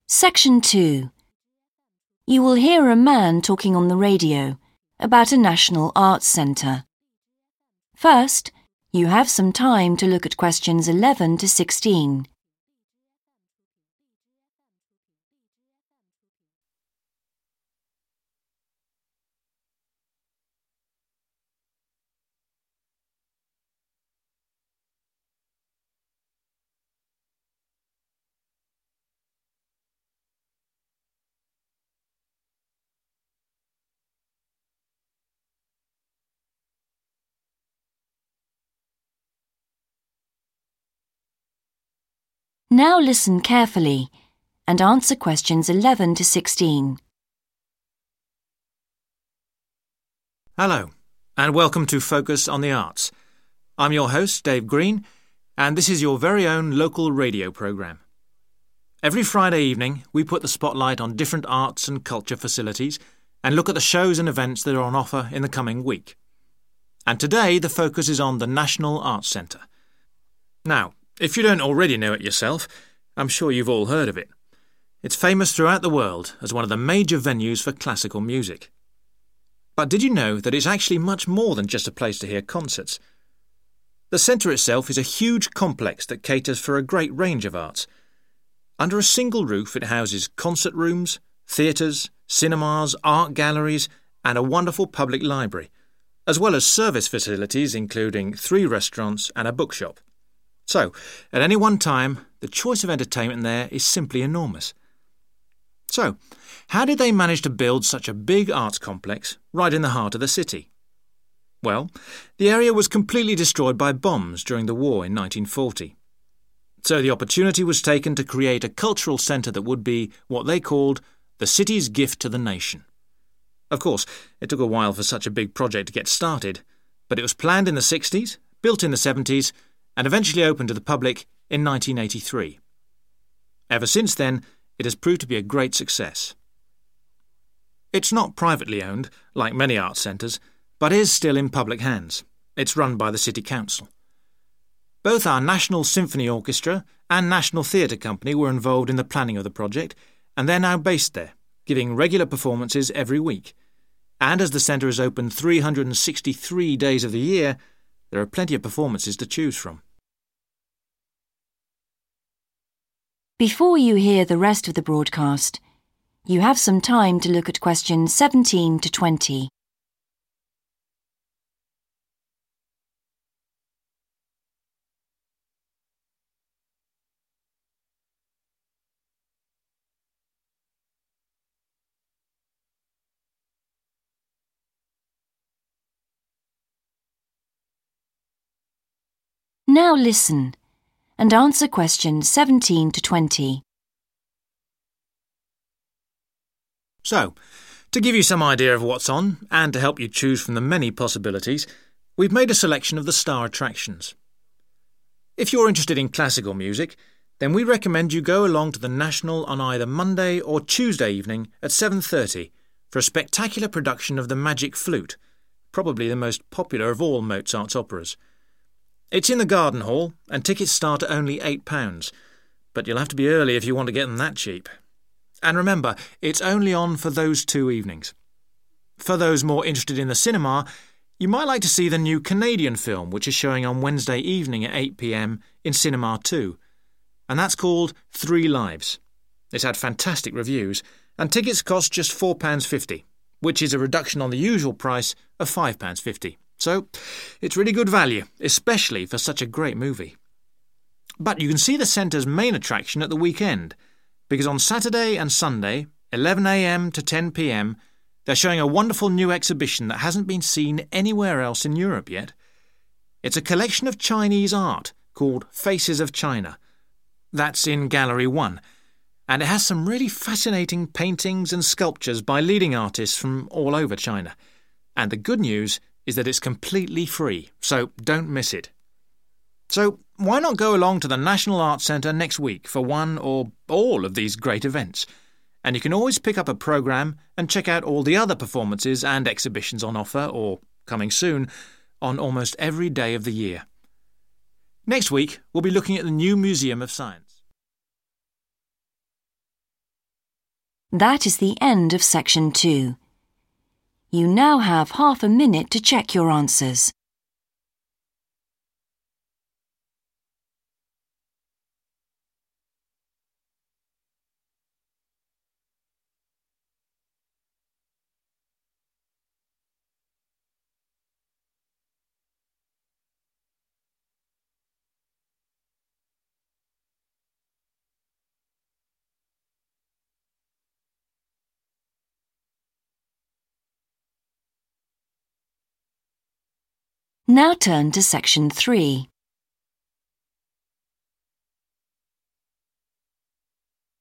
Section 2. You will hear a man talking on the radio about a national arts centre. First, you have some time to look at questions 11 to 16. Now listen carefully and answer questions 11 to 16. Hello, and welcome to Focus on the Arts. I'm your host, Dave Green, and this is your very own local radio programme. Every Friday evening, we put the spotlight on different arts and culture facilities and look at the shows and events that are on offer in the coming week. And today, the focus is on the National Arts Centre. Now, if you don't already know it yourself, I'm sure you've all heard of it. It's famous throughout the world as one of the major venues for classical music. But did you know that it's actually much more than just a place to hear concerts? The centre itself is a huge complex that caters for a great range of arts. Under a single roof it houses concert rooms, theatres, cinemas, art galleries and a wonderful public library, as well as service facilities including 3 restaurants and a bookshop. So, at any one time, the choice of entertainment there is simply enormous. So, how did they manage to build such a big arts complex right in the heart of the city? Well, the area was completely destroyed by bombs during the war in 1940. So the opportunity was taken to create a cultural centre that would be what they called the city's gift to the nation. Of course, it took a while for such a big project to get started, but it was planned in the 60s, built in the 70s, and eventually opened to the public in 1983. Ever since then, it has proved to be a great success. It's not privately owned, like many arts centres, but is still in public hands. It's run by the City Council. Both our National Symphony Orchestra and National Theatre Company were involved in the planning of the project, and they're now based there, giving regular performances every week. And as the centre is open 363 days of the year, there are plenty of performances to choose from. Before you hear the rest of the broadcast, you have some time to look at questions 17 to 20. Now listen and answer questions 17 to 20. So, to give you some idea of what's on, and to help you choose from the many possibilities, we've made a selection of the star attractions. If you're interested in classical music, then we recommend you go along to the National on either Monday or Tuesday evening at 7:30 for a spectacular production of The Magic Flute, probably the most popular of all Mozart's operas. It's in the Garden Hall, and tickets start at only £8, but you'll have to be early if you want to get them that cheap. And remember, it's only on for those 2 evenings. For those more interested in the cinema, you might like to see the new Canadian film, which is showing on Wednesday evening at 8 p.m. in Cinema 2, and that's called 3 Lives. It's had fantastic reviews, and tickets cost just £4.50, which is a reduction on the usual price of £5.50. So, it's really good value, especially for such a great movie. But you can see the centre's main attraction at the weekend, because on Saturday and Sunday, 11 a.m. to 10 p.m, they're showing a wonderful new exhibition that hasn't been seen anywhere else in Europe yet. It's a collection of Chinese art called Faces of China. That's in Gallery 1, and it has some really fascinating paintings and sculptures by leading artists from all over China. And the good news is that it's completely free, so don't miss it. So why not go along to the National Arts Centre next week for one or all of these great events? And you can always pick up a programme and check out all the other performances and exhibitions on offer, or coming soon, on almost every day of the year. Next week, we'll be looking at the new Museum of Science. That is the end of section 2. You now have half a minute to check your answers. Now turn to section 3.